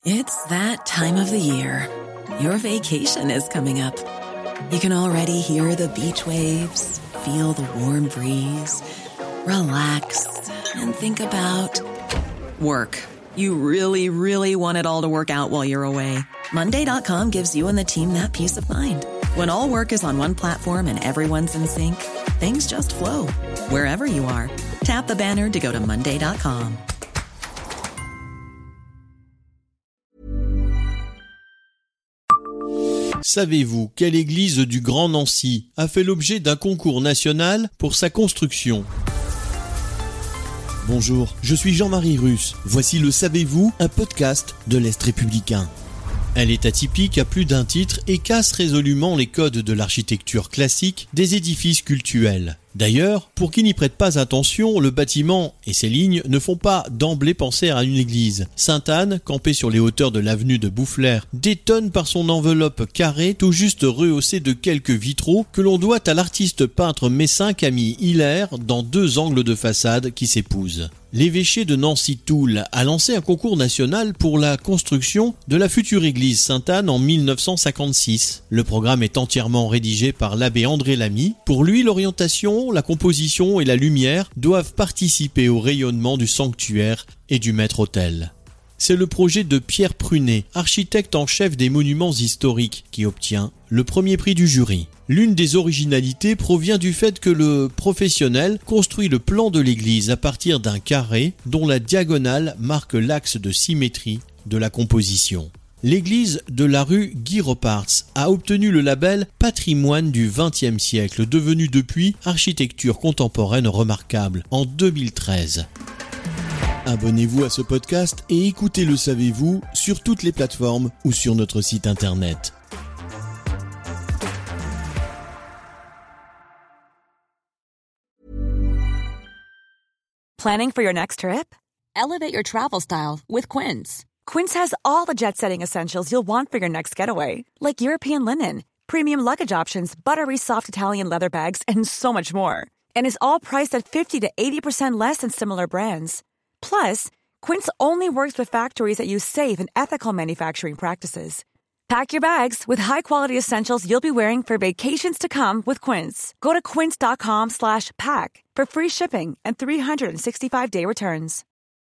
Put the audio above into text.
It's that time of the year. Your vacation is coming up. You can already hear the beach waves, feel the warm breeze, relax, and think about work. You really, really want it all to work out while you're away. Monday.com gives you and the team that peace of mind. When all work is on one platform and everyone's in sync, things just flow. Wherever you are, tap the banner to go to Monday.com. Savez-vous quelle église du Grand Nancy a fait l'objet d'un concours national pour sa construction ? Bonjour, je suis Jean-Marie Russe. Voici le Savez-vous, un podcast de l'Est républicain. Elle est atypique à plus d'un titre et casse résolument les codes de l'architecture classique des édifices cultuels. D'ailleurs, pour qui n'y prête pas attention, le bâtiment et ses lignes ne font pas d'emblée penser à une église. Sainte-Anne, campée sur les hauteurs de l'avenue de Boufflers, détonne par son enveloppe carrée tout juste rehaussée de quelques vitraux que l'on doit à l'artiste peintre messin Camille Hilaire dans deux angles de façade qui s'épousent. L'évêché de Nancy-Toul a lancé un concours national pour la construction de la future église Sainte-Anne en 1956. Le programme est entièrement rédigé par l'abbé André Lamy. Pour lui, l'orientation, la composition et la lumière doivent participer au rayonnement du sanctuaire et du maître-autel. C'est le projet de Pierre Prunet, architecte en chef des monuments historiques, qui obtient le premier prix du jury. L'une des originalités provient du fait que le professionnel construit le plan de l'église à partir d'un carré dont la diagonale marque l'axe de symétrie de la composition. L'église de la rue Guy Roparts a obtenu le label Patrimoine du XXe siècle, devenu depuis architecture contemporaine remarquable en 2013. Abonnez-vous à ce podcast et écoutez Le Savez-vous sur toutes les plateformes ou sur notre site internet. Planning for your next trip? Elevate your travel style with Quince. Quince has all the jet-setting essentials you'll want for your next getaway, like European linen, premium luggage options, buttery soft Italian leather bags, and so much more. And is all priced at 50 to 80% less than similar brands. Plus, Quince only works with factories that use safe and ethical manufacturing practices. Pack your bags with high-quality essentials you'll be wearing for vacations to come with Quince. Go to quince.com/pack for free shipping and 365-day returns.